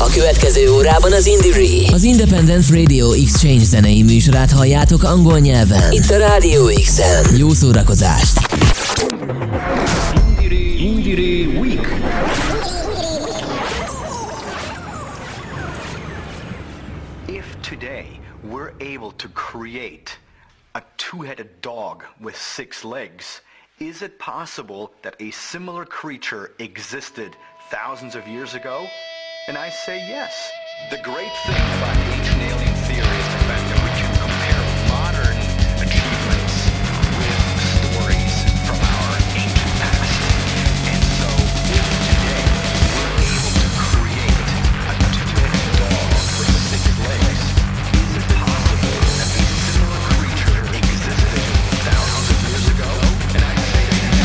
A következő órában az Indie, az Independent Radio Exchange zenei műsorát halljátok angol nyelven. Itt a Radio X-en. Jó szórakozást! Indie Week. If today we're able to create a two-headed dog with 6 legs, is it possible that a similar creature existed thousands of years ago? And I say yes. The great thing about the ancient alien theory is the fact that we can compare modern achievements with stories from our ancient past. And so if today we're able to create a two-headed dog with 6 legs, is it possible that a similar creature existed thousands of years ago? And I say yes.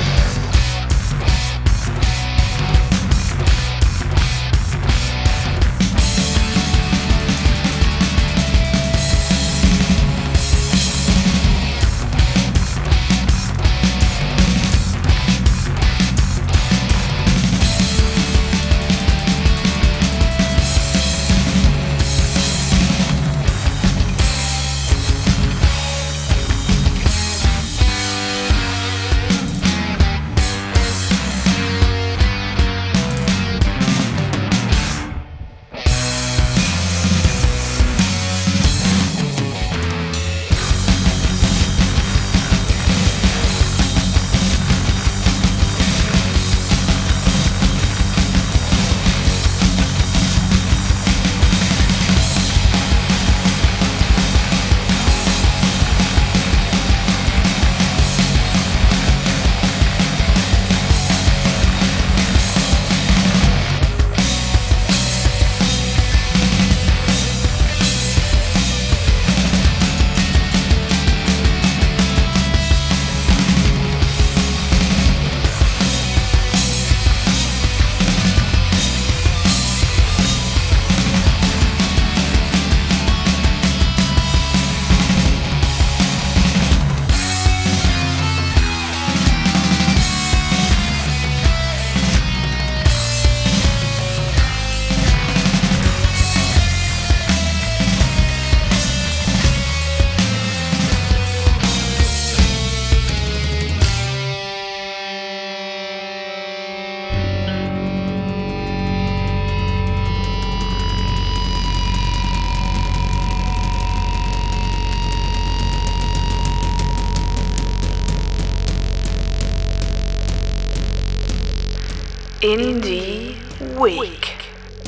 Indie Week.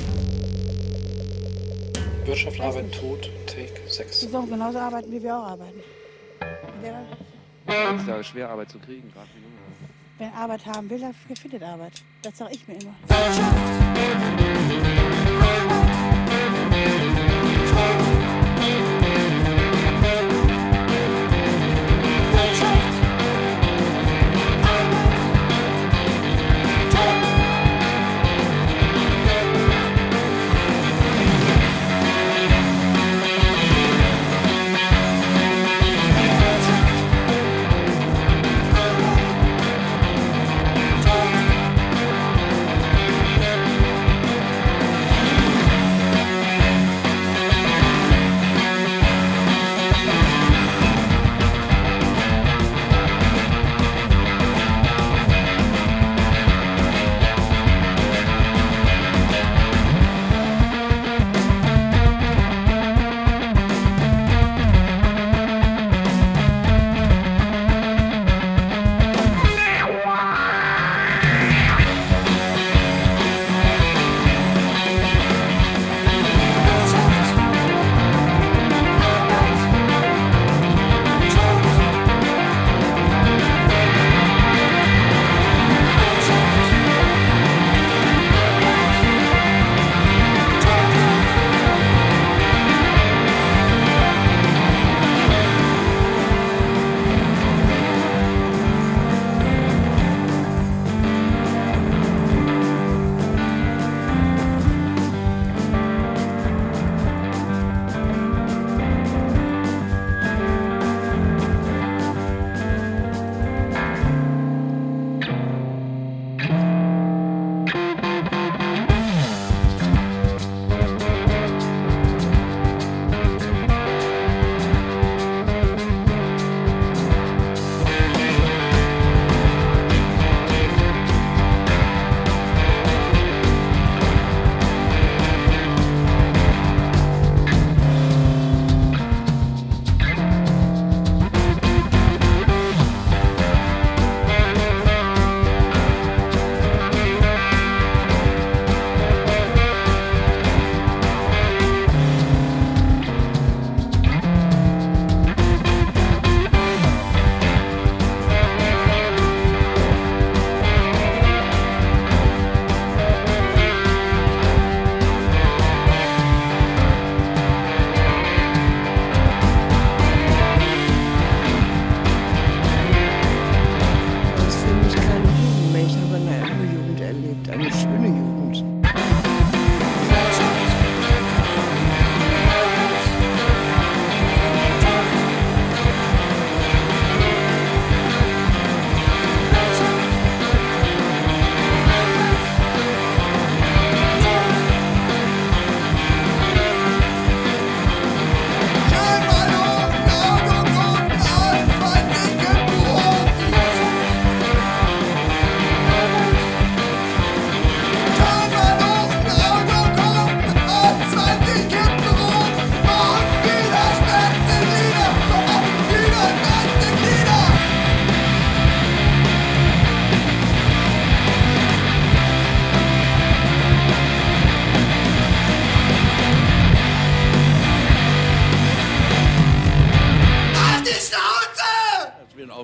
Wirtschaft, Arbeit, Tod, Take 6. Die sollen genauso arbeiten, wie wir auch arbeiten. Es ist ja schwer, Arbeit zu kriegen, gerade für Junge. Wer Arbeit haben will, der findet Arbeit. Das sage ich mir immer.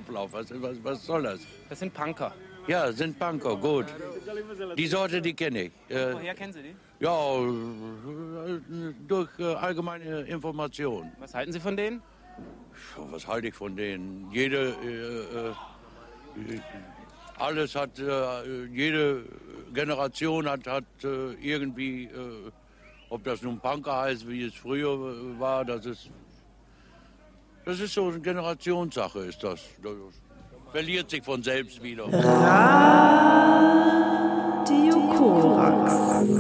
Auflauf. Was soll das? Das sind Punker. Ja, sind Punker, gut. Die Sorte, die kenne ich. Woher kennen Sie die? Ja, durch allgemeine Informationen. Was halten Sie von denen? Was halte ich von denen? Alles hat, jede Generation hat irgendwie, ob das nun Punker heißt, wie es früher war, das ist so eine Generationssache, ist das. Das verliert sich von selbst wieder. Radio Korax.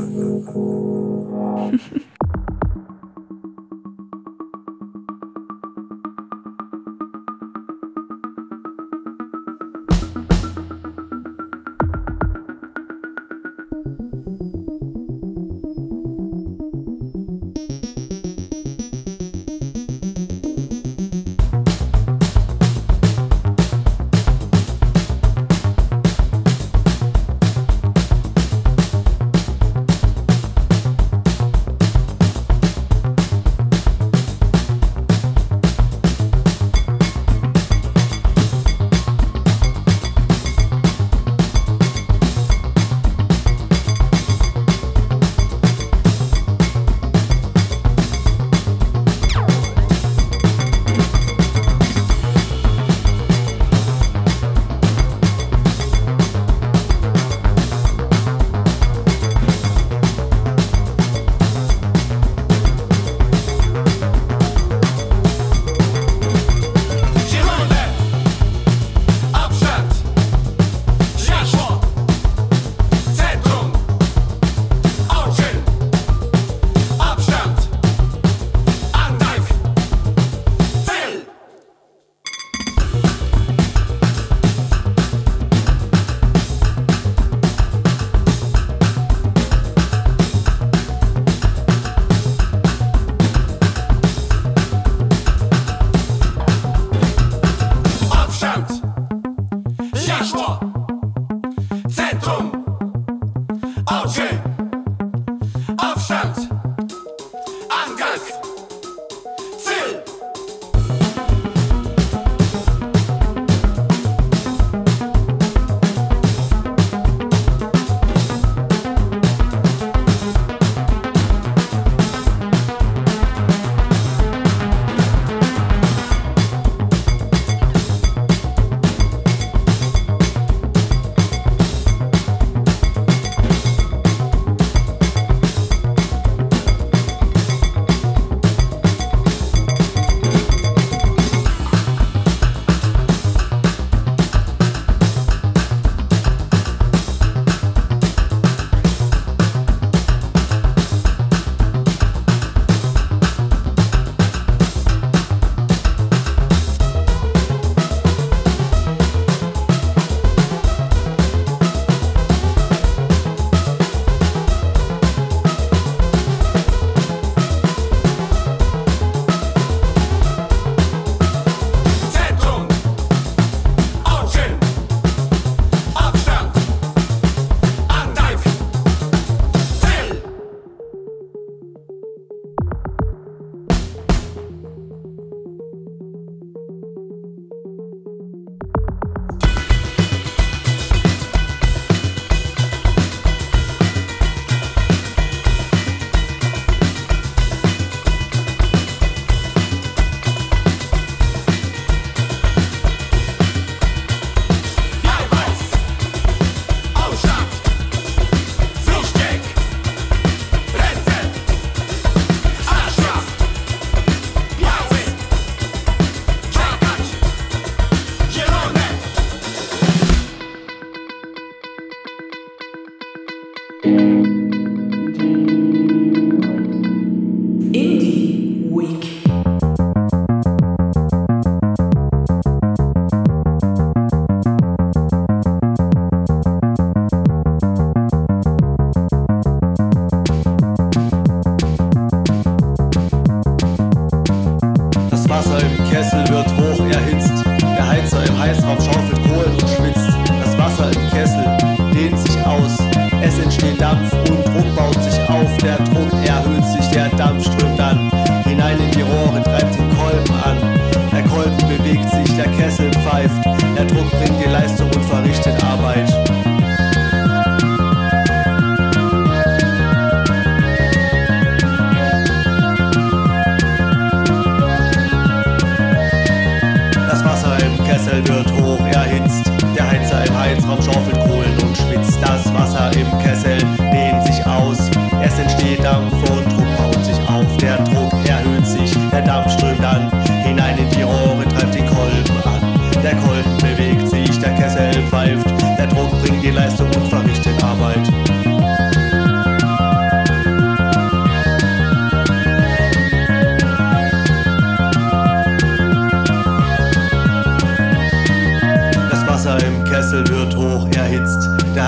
Dampf strömt an, hinein in die Rohre, treibt den Kolben an. Der Kolben bewegt sich, der Kessel pfeift.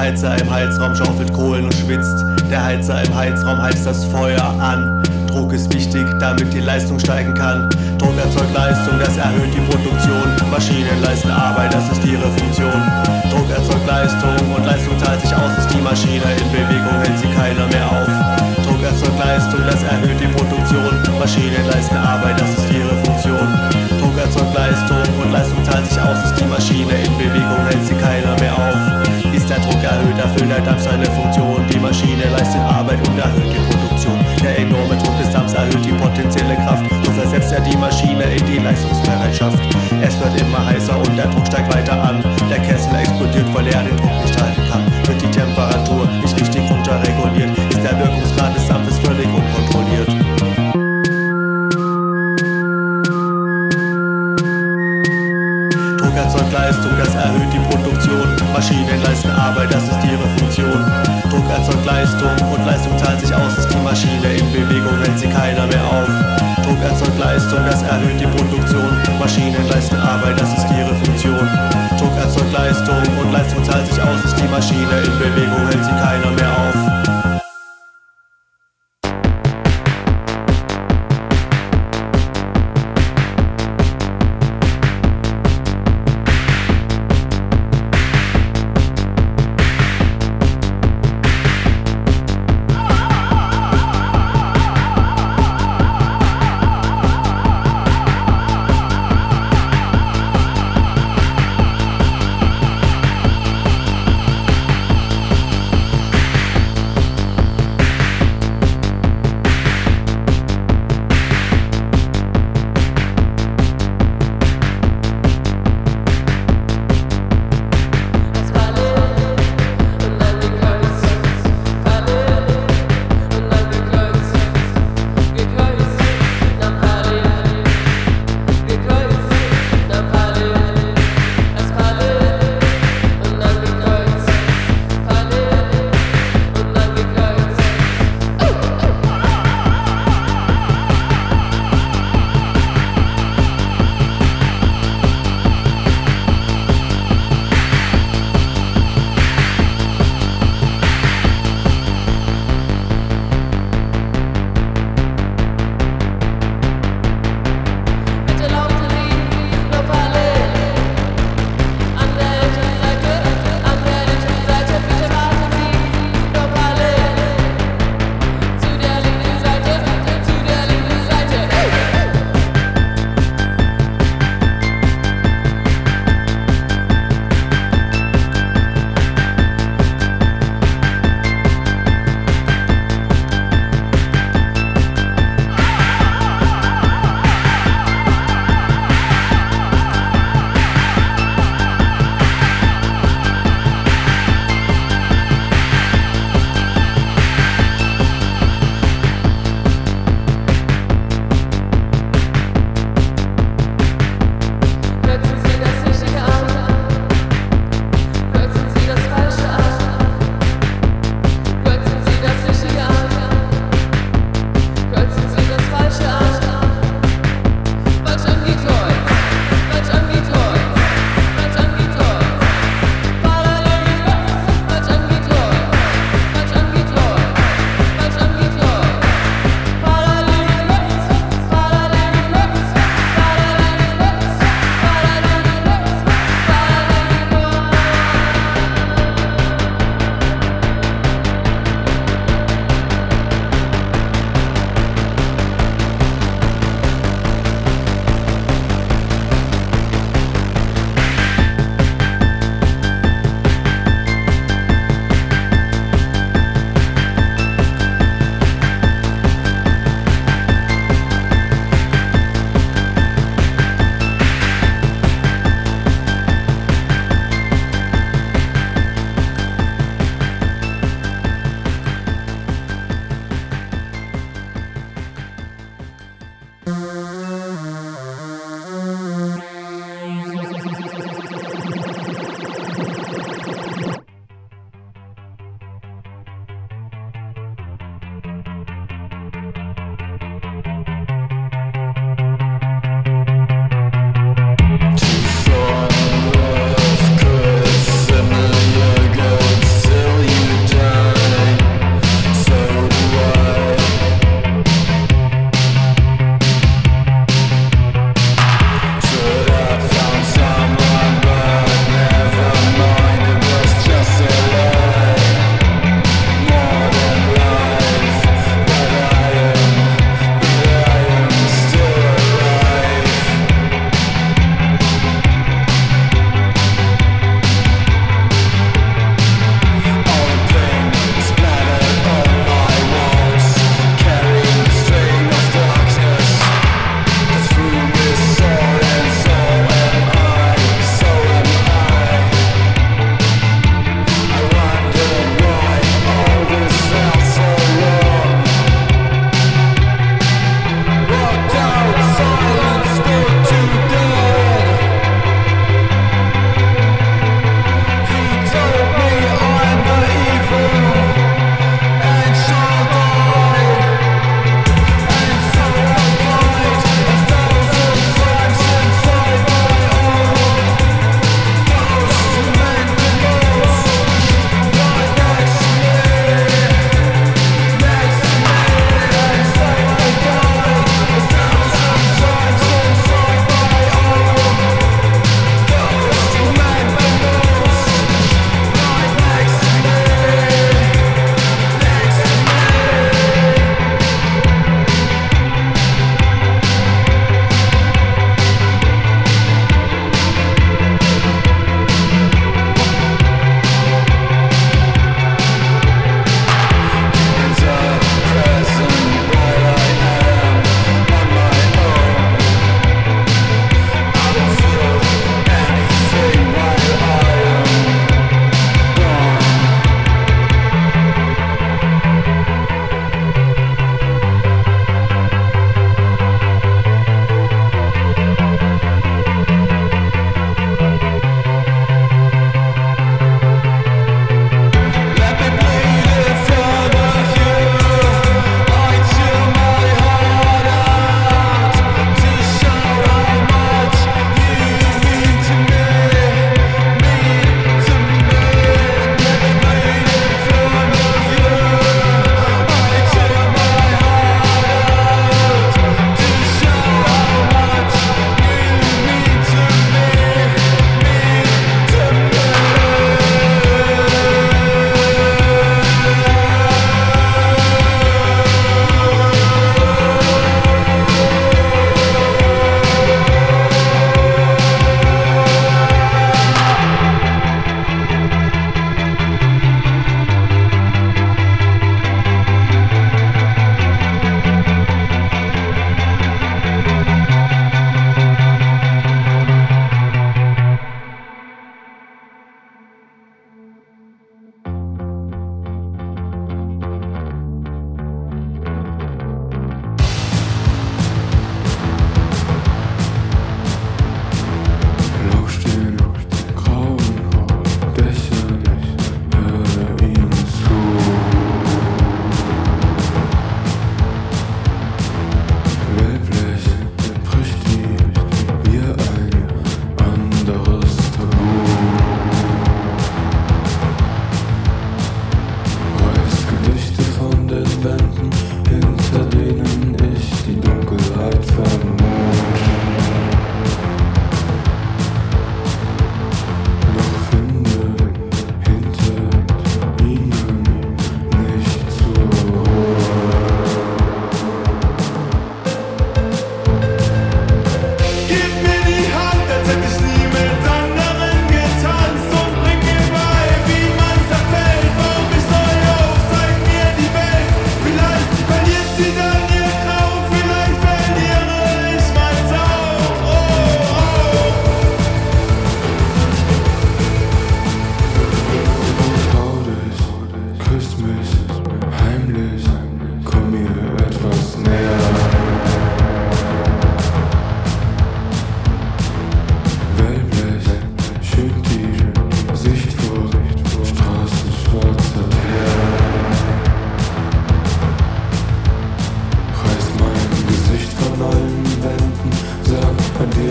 Heizer im Heizraum schaufelt Kohlen und schwitzt. Der Heizer im Heizraum heizt das Feuer an. Druck ist wichtig, damit die Leistung steigen kann. Druck erzeugt Leistung, das erhöht die Produktion. Maschinen leisten Arbeit, das ist ihre Funktion. Druck erzeugt Leistung und Leistung zahlt sich aus, ist die Maschine in Bewegung, hält sie keiner mehr auf. Druck erzeugt Leistung, das erhöht die Produktion. Maschinen leisten Arbeit, das ist ihre Funktion. Druck erzeugt Leistung und Leistung zahlt sich aus, ist die Maschine in Bewegung, hält sie keiner mehr auf. Ist der Druck erhöht, erfüllt der Dampf seine Funktion. Die Maschine leistet Arbeit und erhöht die Produktion. Der enorme Druck des Dampfs erhöht die potenzielle Kraft. So versetzt er die Maschine in die Leistungsbereitschaft. Es wird immer heißer und der Druck steigt weiter an. Der Kessel explodiert, weil er den Druck nicht halten kann. Wird die Temperatur nicht richtig runterreguliert, ist der Wirkungsgrad des Dampfes völlig unkontrolliert. Druck erzeugt Leistung, das erhöht die Produktion. Maschinen leisten Arbeit, das ist ihre Funktion. Druck erzeugt Leistung und Leistung zahlt sich aus, ist die Maschine in Bewegung, hält sie keiner mehr auf. Druck erzeugt Leistung, das erhöht die Produktion. Maschinen leisten Arbeit, das ist ihre Funktion. Druck erzeugt Leistung und Leistung zahlt sich aus, ist die Maschine in Bewegung, hält sie keiner mehr auf.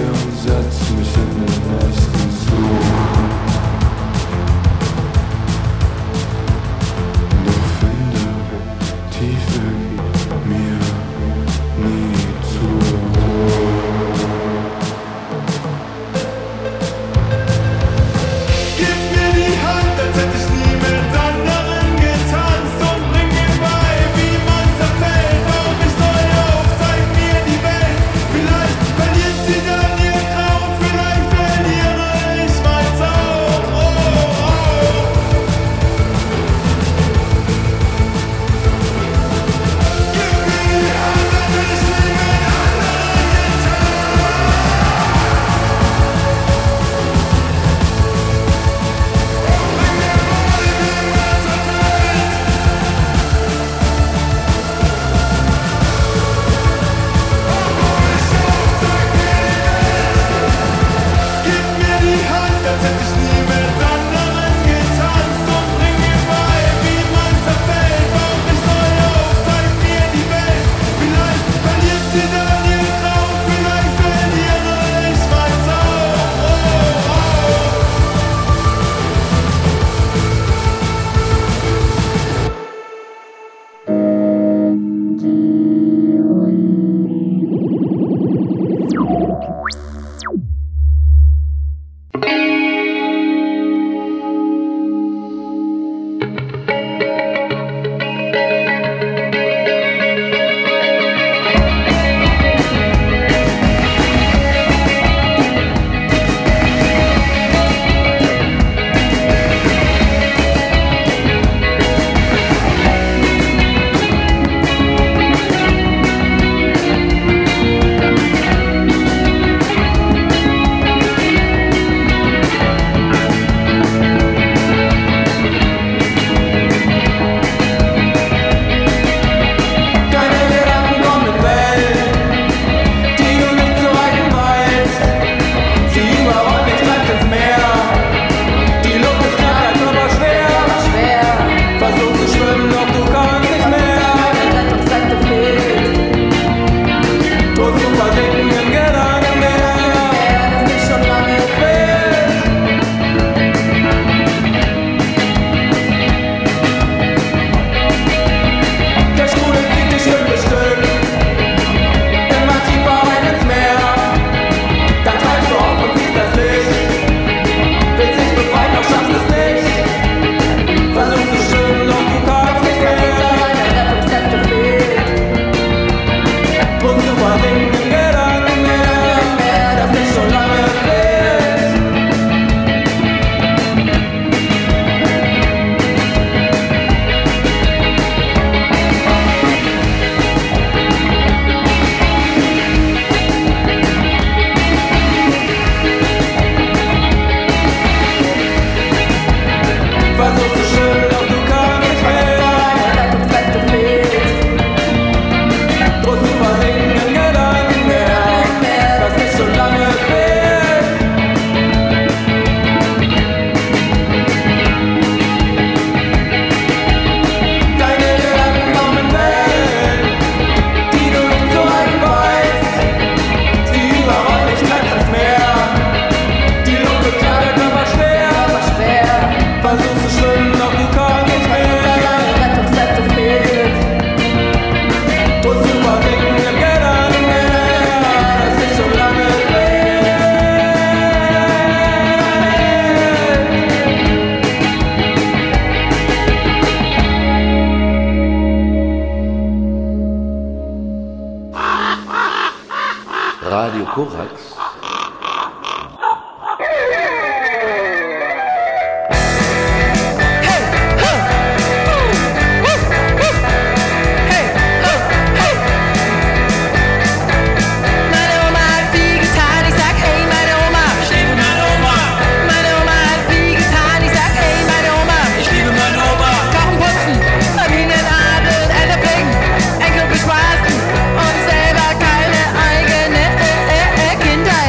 und setz mich in den nächsten Zug. Doch finde tief in mir nie zur Ruhe. Gib mir die Hand, als hätte ich nie mit anderen getanzt und bring mir bei, wie man zerfällt. Bau mich neu auf, zeig mir die Welt. Vielleicht verliert sie dann ihr Traum, vielleicht verliere ich meins auch. Oh, oh. Gib mir die Hand, als hätte ich nie mit anderen Gib mir die Hand, als hätte ich nie mit anderen getanzt und bring mir bei, wie man zerfällt. Bau mich neu auf, zeig mir die Welt. Vielleicht verliert sie dann ihr Traum, vielleicht verliere ich meins auch. Oh, oh. Radio Korax. Kindheit.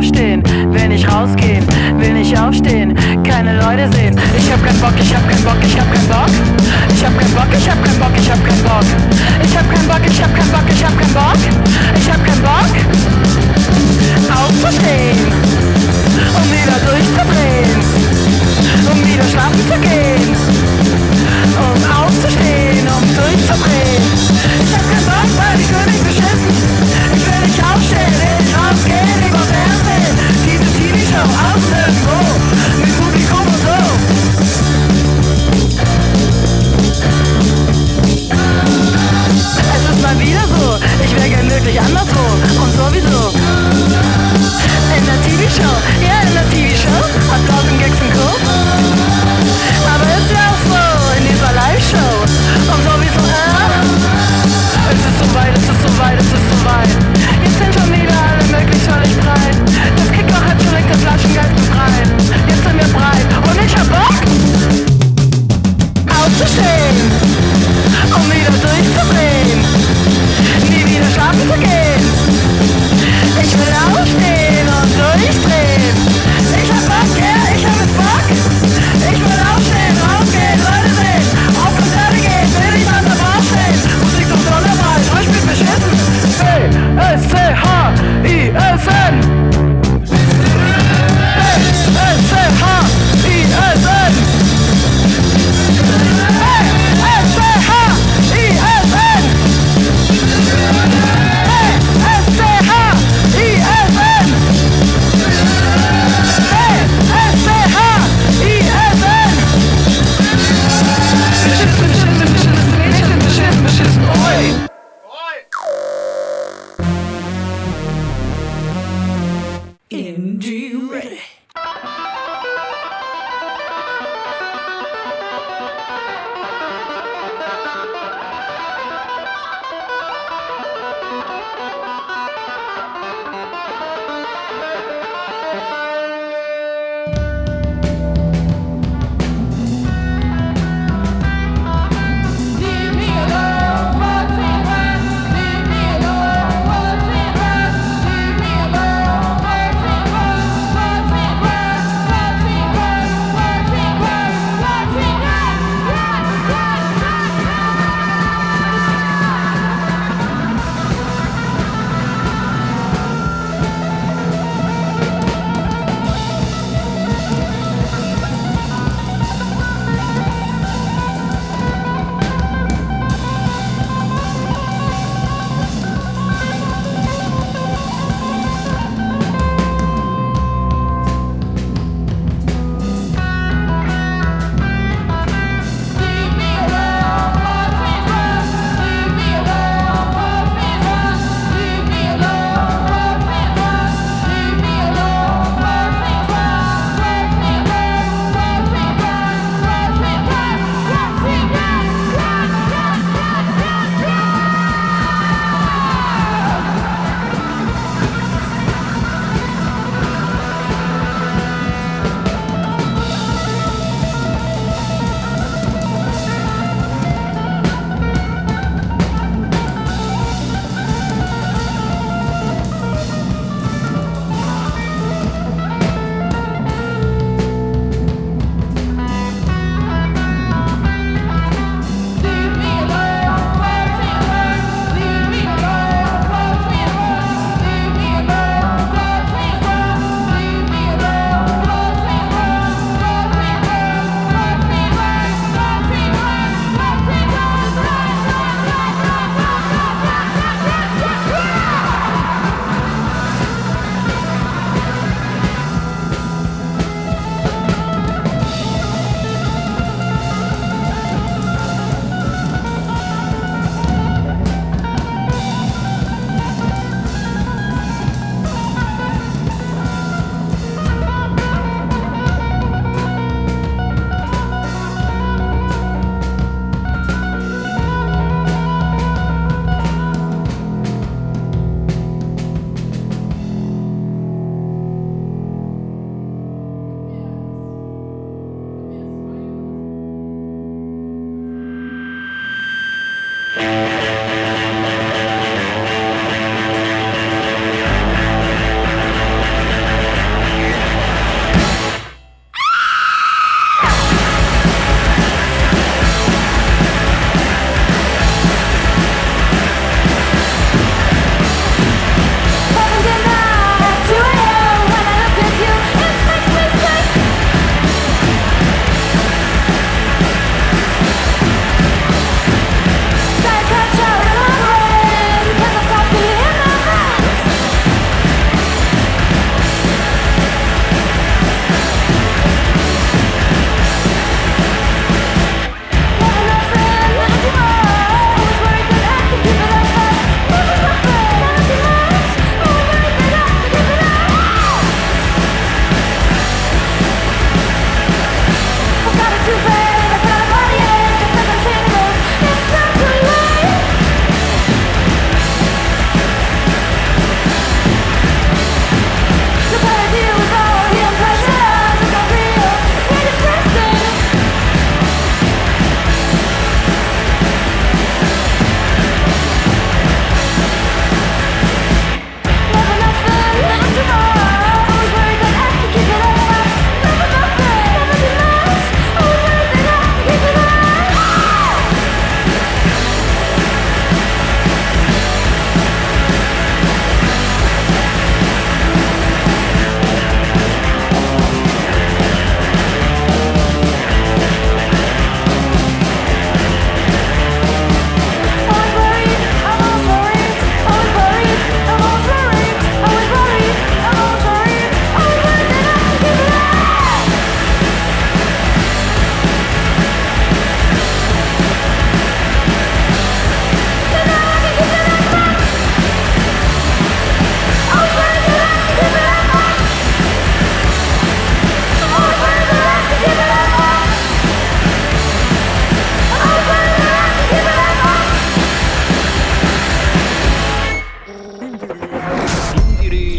aufstehen, will nicht rausgehen, will nicht aufstehen, keine Leute sehen. Ich hab keinen Bock, ich hab keinen Bock, ich hab keinen Bock. Ich hab keinen Bock, ich hab keinen Bock, ich hab keinen Bock. Ich hab keinen Bock, ich hab keinen Bock, ich hab keinen Bock. Ich hab keinen Bock, aufzustehen, um wieder durchzudrehen, um wieder schlafen zu gehen, um aufzustehen, um durchzudrehen. Ich hab keinen Bock, weil ich will nicht beschissen. Ich will nicht aufstehen, will nicht rausgehen, lieber Fernsehen. Diese TV-Show aus irgendwo, mit Publikum und so. Es ist mal wieder so, ich wär gern wirklich anderswo und sowieso. In der TV-Show, ja in der TV-Show, hat 1000 Gags und Co. Aber ist ja auch so, in dieser Live-Show und sowieso, es ist so weit, es ist so weit, es ist so weit. Jetzt sind schon wieder alle möglichst völlig breit. Das Kickloch hat schon längst das Flaschengeist befreit. Jetzt sind wir breit und ich hab Bock aufzustehen, um wieder durchzudrehen, nie wieder schlafen zu gehen. Ich will aufstehen und durchdrehen. Ich hab Bock, yeah, ich hab jetzt Bock. Ich will aufstehen, rausgehen, Leute sehen, auf Konzerte gehen, will nicht an der Bar stehen. Musik zum Sonderwald, euch spielt beschissen. B-S-C-H-I-S-N. B-S-C-H-I-S-N. B-S-C-H-I-S-N.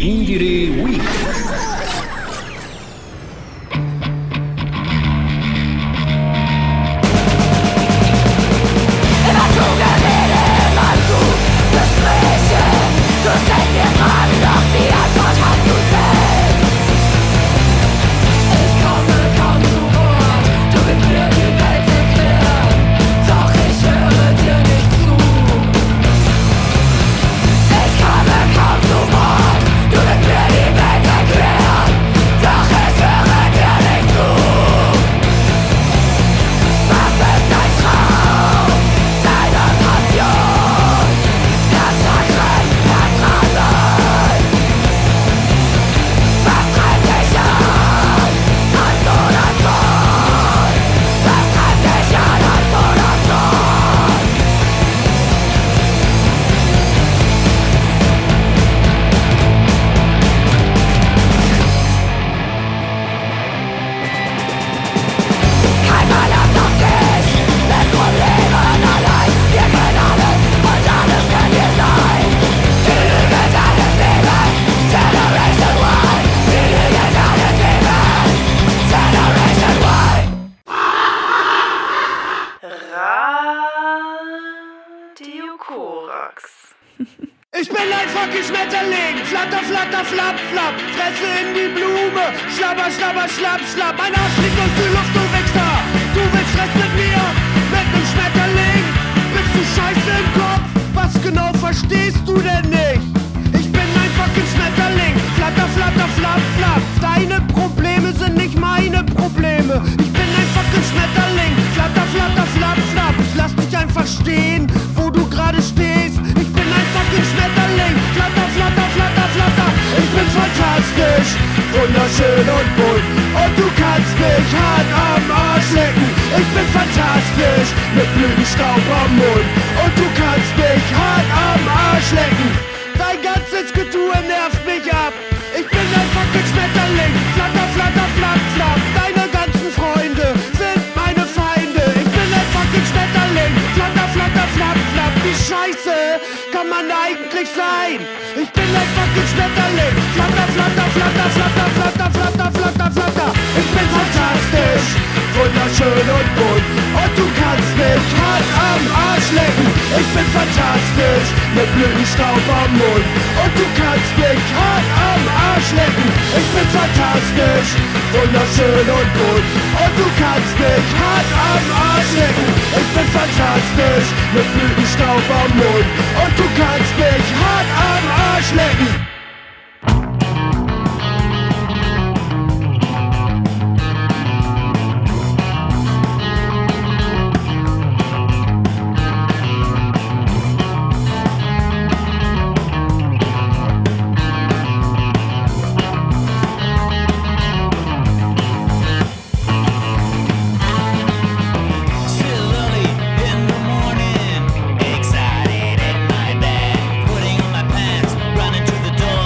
Indire Week. Ich bin ein fucking Schmetterling, flatter, flatter, flapp, flapp, Fresse in die Blume, schlabber, schlabber, schlapp, schlapp, mein Arsch fliegt durch die Luft, du Wichser, du willst Stress mit mir, mit nem Schmetterling, bist du scheiße im Kopf, was genau verstehst du denn nicht? Ich bin ein fucking Schmetterling, flatter, flatter, flapp, flapp, deine Probleme sind nicht meine Probleme, ich bin ein fucking Schmetterling, flatter, flatter, flapp, flapp, ich lass dich einfach stehen, wo du gerade stehst, ich bin ein fucking Schmetterling, flatter, flatter, flatter, flatter, ich bin fantastisch, wunderschön und bunt, und du kannst mich hart am Arsch lecken, ich bin fantastisch, mit Blütenstaub am Mund, und du kannst mich hart am Arsch lecken, dein ganzes Getue nervt mich ab, ich bin ein fucking Schmetterling, flatter, flatter, flapp, flapp, deine ganzen Freunde sind meine Feinde, ich bin ein fucking Schmetterling, flatter, flatter, flapp, flapp, wie scheiße kann man eigentlich sein? Ich bin ein fucking Schmetterling, flatter, flatter, flatter, flatter, flatter, flatter, flatter, flatter, ich bin fantastisch, wunderschön und bunt, und du kannst mich hart am Arsch lecken, ich bin fantastisch, mit Blütenstaub am Mund, und du kannst mich hart am Arsch lecken, ich bin fantastisch, wunderschön und bunt, und du kannst mich hart am Arsch lecken, ich bin fantastisch, mit Blütenstaub am Mund, und du kannst mich hart am Arsch lecken. Excited in my bed, putting on my pants, running to the door.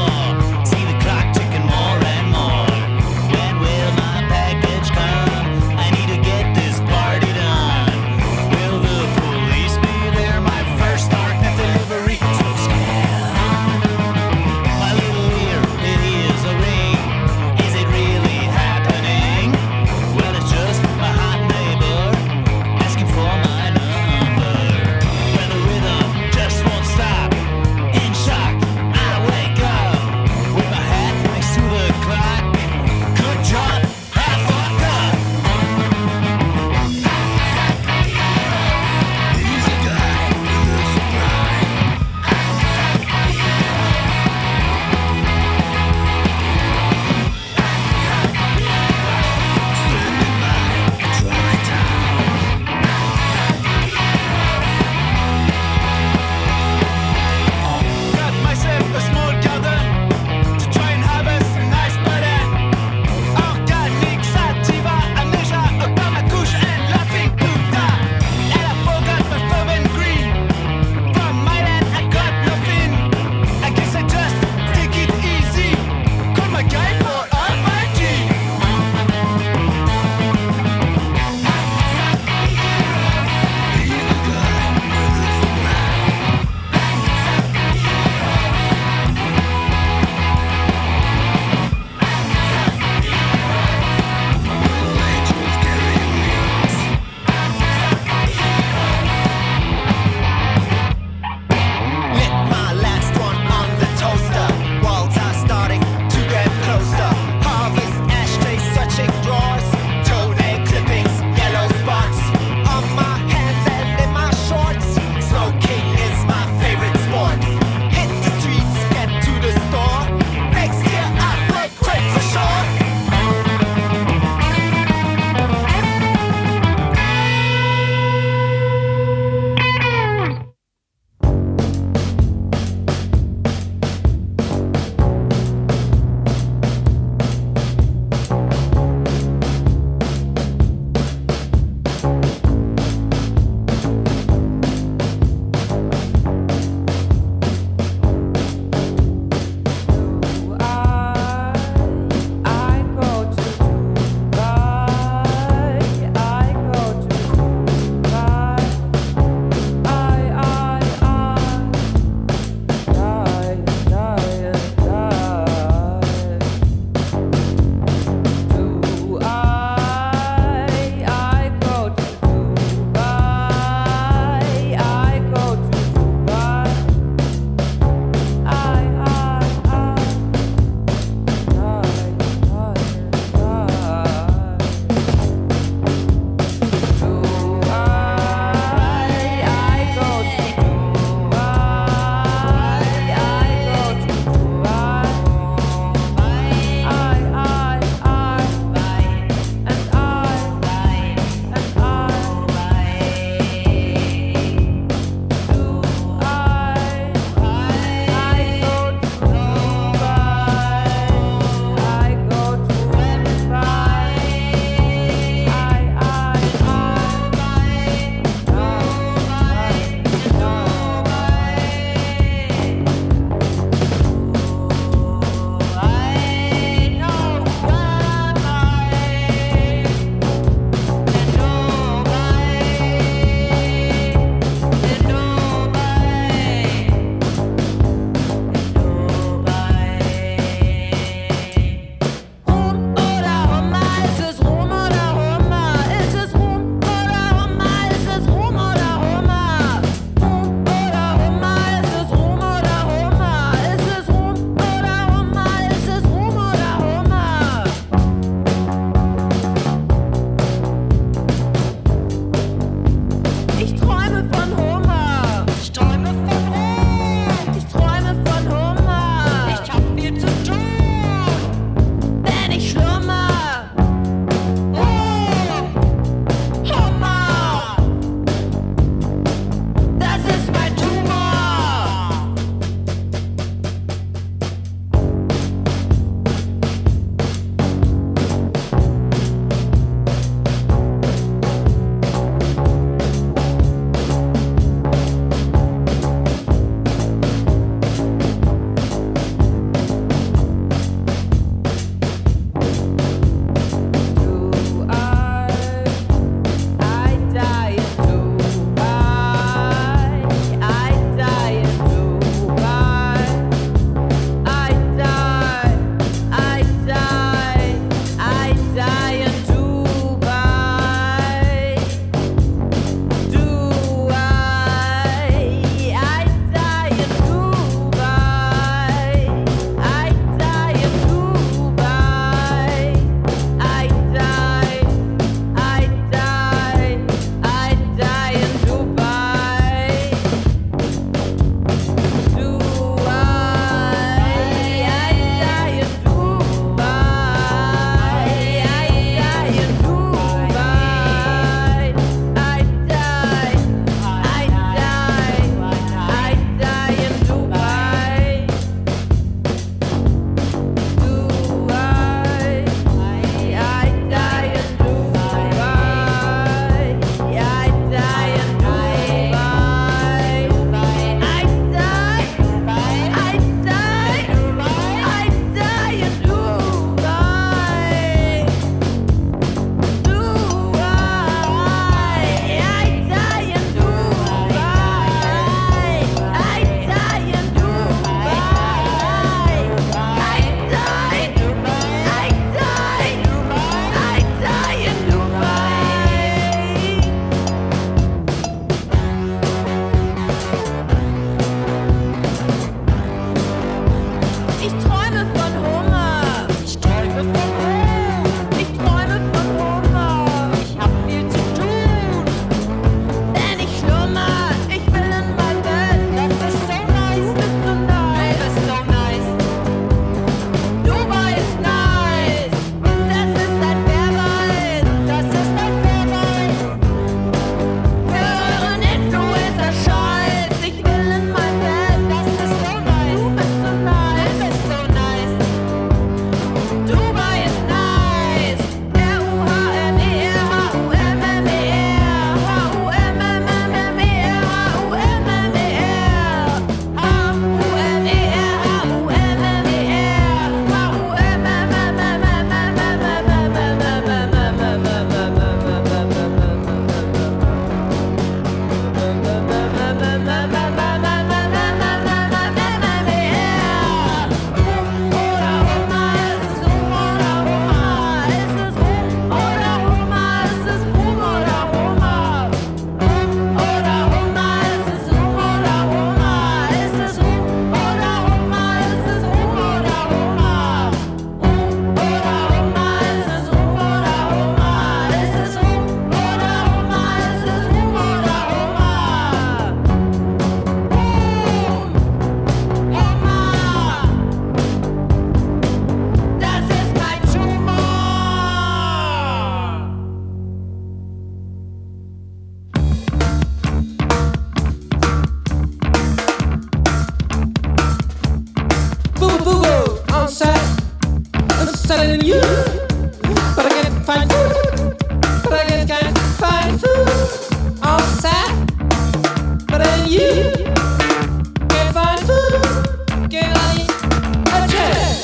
telling you, but I can't find food. But I can't find food outside. But then you can't find food. Can't I eat a check?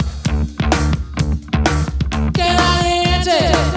Can't I eat a check?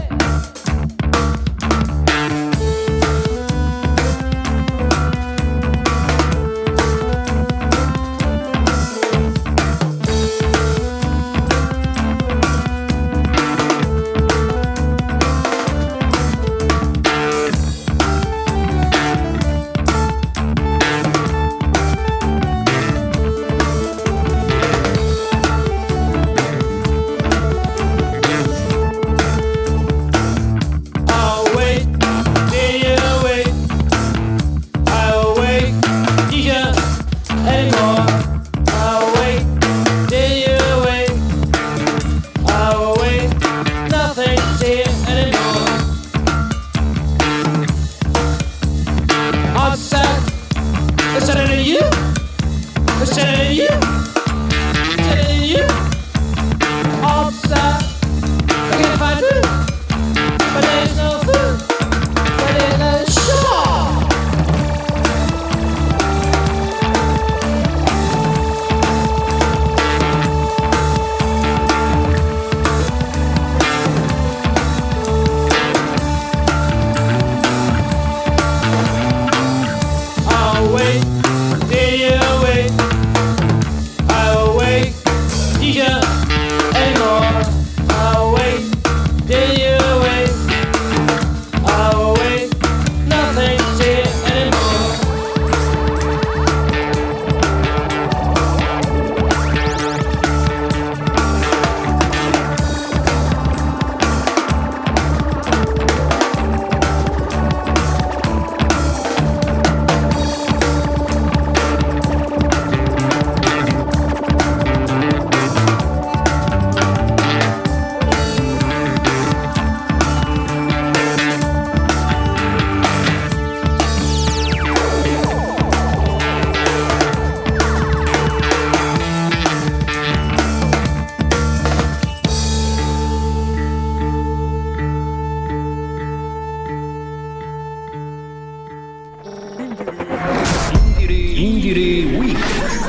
Indire Week.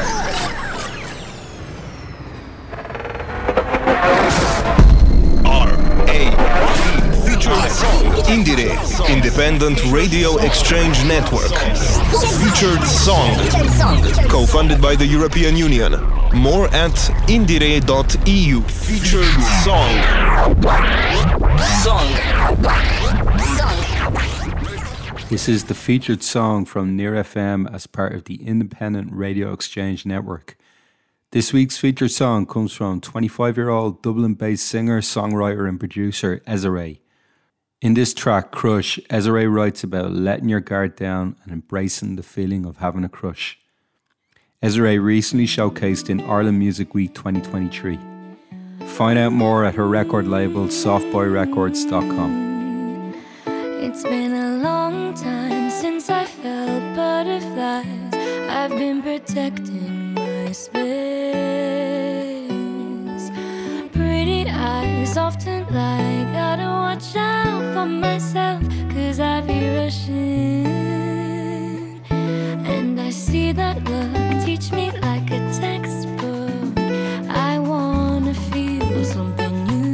Featured song Indire Independent Radio Exchange Network. Featured song co-funded by the European Union. More at indire.eu. Featured song. This is the featured song from Near FM as part of the Independent Radio Exchange Network. This week's featured song comes from 25-year-old Dublin-based singer, songwriter and producer Ezra. In this track, Crush, Ezra writes about letting your guard down and embracing the feeling of having a crush. Ezra recently showcased in Ireland Music Week 2023. Find out more at her record label, softboyrecords.com. It's been a long time since I felt butterflies. I've been protecting my space. Pretty eyes often lie. Gotta watch out for myself, 'cause I be rushing. And I see that look, teach me like a textbook. I wanna feel something new.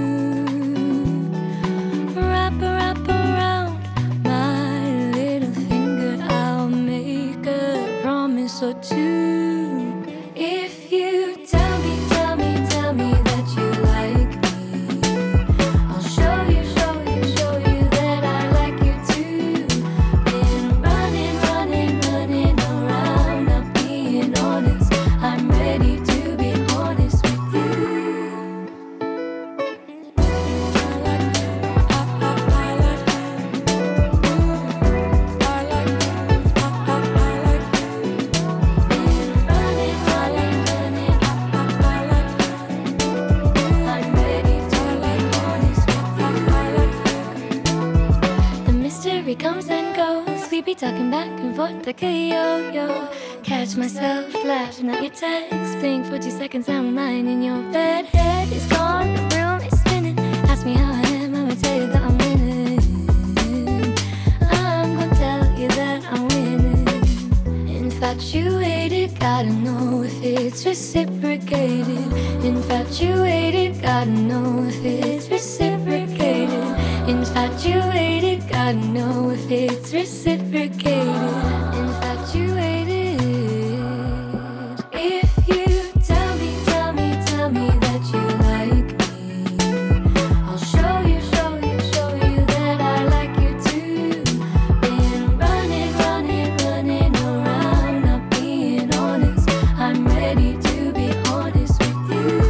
Wrap around my little finger, I'll make a promise or two. If you tell me that you like me, I'll show you that I like you too. Been running around, not being all be talking back and forth like a yo-yo. Catch myself laughing at your text. Blink for 2 seconds, I'm lying in your bed. Head is gone, the room is spinning. Ask me how I am, I'ma tell you that I'm winning. I'm gonna tell you that I'm winning. Infatuated, gotta know if it's reciprocated. Infatuated, gotta know if it's reciprocated. Infatuated, gotta know if it's reciprocated. Infatuated. If you tell me that you like me, I'll show you that I like you too. Been running around, not being honest. I'm ready to be honest with you.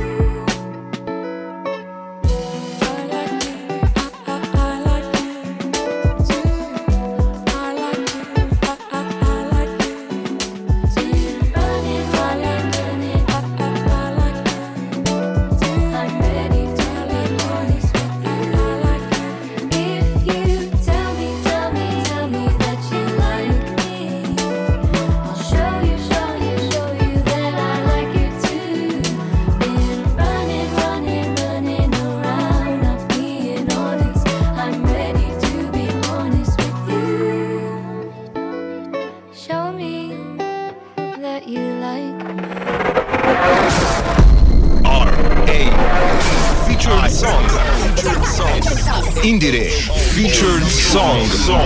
Indire featured song.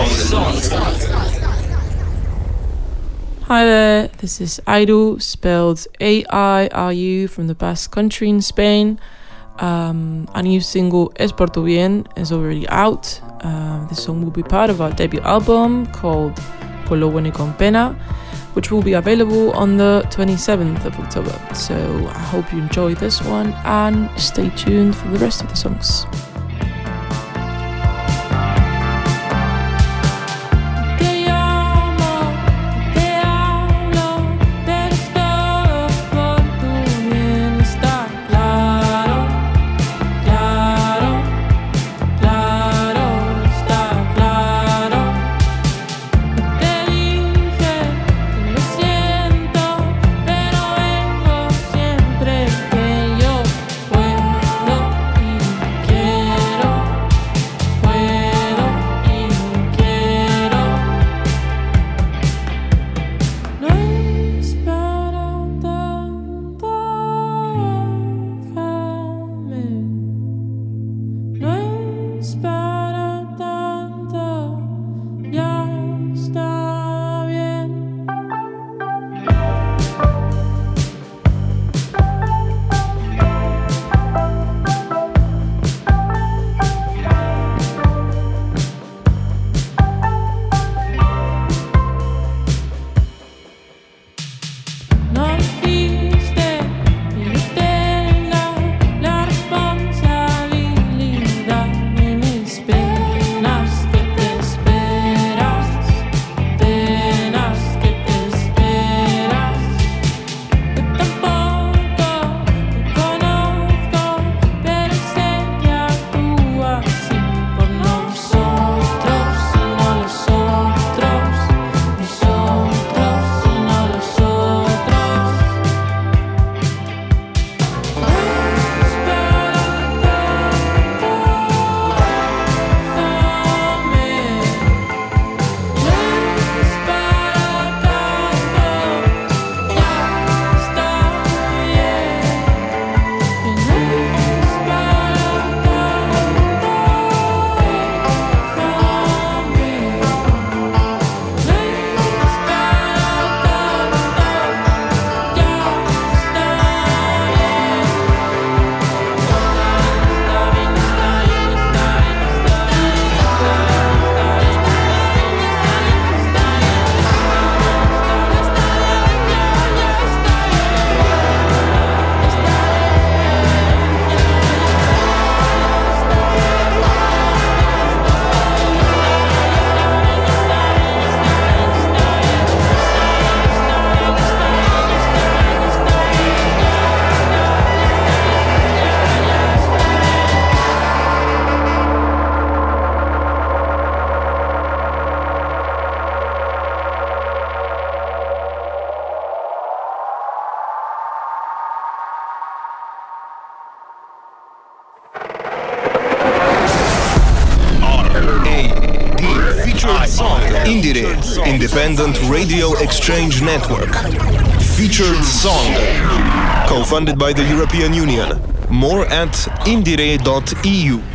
Hi there, this is Airu, spelled A-I-R-U, from the Basque Country in Spain. A new single, Es Por Tu Bien, is already out. This song will be part of our debut album called Por Lo Bueno y Con Pena, which will be available on the 27th of October. So I hope you enjoy this one and stay tuned for the rest of the songs. Que Indiere, Independent Radio Exchange Network. Featured song. Co-funded by the European Union. More at indiere.eu.